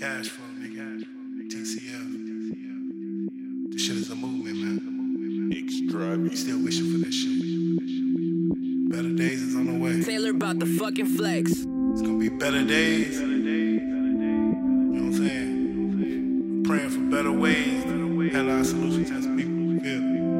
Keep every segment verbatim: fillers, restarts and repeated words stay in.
Cash flow, nigga. T C F. This shit is a movement, man. Extra. Still wishing for this shit. Better days is on the way. Taylor about the fucking flex. It's gonna be better days. You know what I'm saying? Praying for better ways. Had our solutions as people. Feel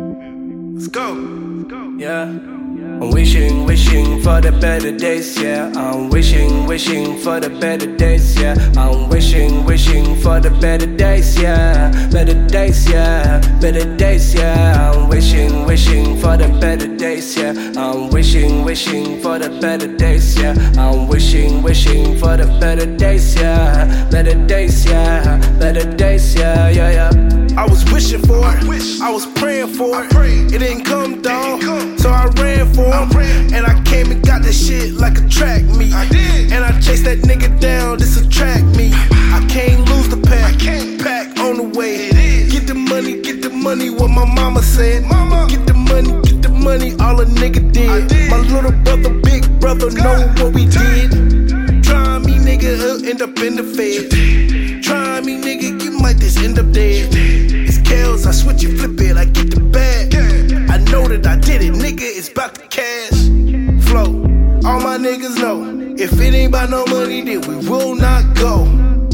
me? Let's go. Let's go. Yeah. I'm wishing, wishing for the better days, yeah. I'm wishing, wishing for the better days, yeah. I'm wishing, wishing for the better days, yeah. Better days, yeah. Better days, yeah. I'm wishing, wishing for the better days, yeah. I'm wishing, wishing for the better days, yeah. I'm wishing, wishing for the better days, yeah. Better days, yeah. Better days, yeah, yeah, yeah. I was wishing for it, I was praying for it. It didn't come, dawg, so I ran for it. And I came and got that shit like a track meet. And I chased that nigga down, this a track meet. I can't lose the pack, pack on the way. Get the money, get the money, what my mama said. Get the money, get the money, all a nigga did. My little brother, big brother, know what we did. Try me, nigga, uh, end up in the fed. Try me, nigga, you might just end up dead. It's Kels, I switch it, flip it, I get the bag. I know that I did it, nigga, it's about the cash flow. All my niggas know, if it ain't about no money, then we will not go.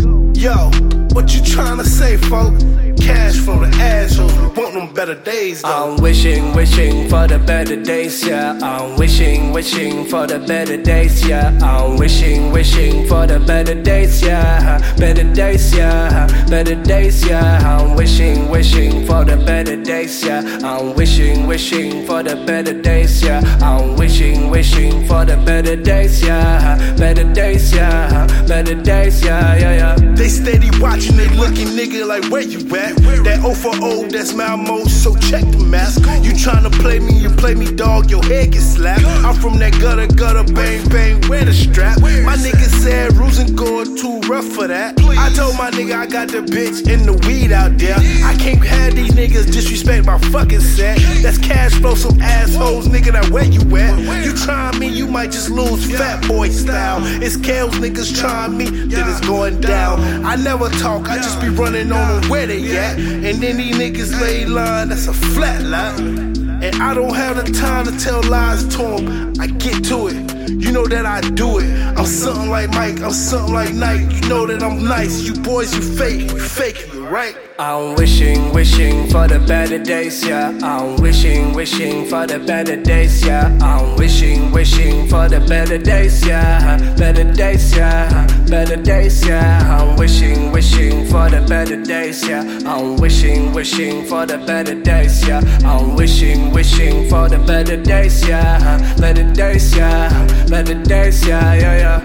Yo, what you tryna say, folk? Cash from the assholes, we want them better days, though. I'm wishing, wishing for the better days, yeah. I'm wishing, wishing for the better days, yeah. I'm wishing, wishing for the better days, yeah. Better days, yeah. Better days, yeah. I'm wishing, wishing for the better days, yeah. I'm wishing, wishing for the better days, yeah. I'm wishing, wishing for the better days, yeah. Better days, yeah. Better days, yeah, yeah, yeah. They steady watching, they looking, nigga, like where you at? That O for O, that's Malmo, so check the mask. You tryna play me, you play me, dog, your head get slapped. I'm from that gutter, gutter, bang, bang, wear the strap. My nigga said rules and going too rough for that. I told my nigga I got the bitch in the weed out there. I can't have these niggas disrespect my fucking set. That's cash flow, some assholes, nigga, that where you at? You try me, you might just lose fat boy style. It's Kels niggas trying me, then it's going down. I never talk, I just be running on them where they at. And then these niggas lay line, that's a flat line. And I don't have the time to tell lies to them, I get to it. You know that I do it. I'm something like Mike, I'm something like Nike. You know that I'm nice, you boys, you fake, you faking it, right? I'm wishing, wishing for the better days, yeah. I'm wishing, wishing for the better days, yeah. I'm wishing, wishing for the better days, yeah. Better days, yeah. Better days, yeah. I'm wishing, wishing for the better days, yeah. I'm wishing, wishing for the better days, yeah. I'm wishing, wishing for the better days, yeah. Better days, yeah. Better days, yeah, yeah, yeah.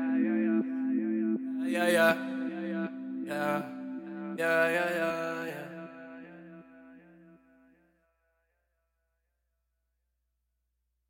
Yeah, yeah, yeah, yeah, yeah, yeah, yeah.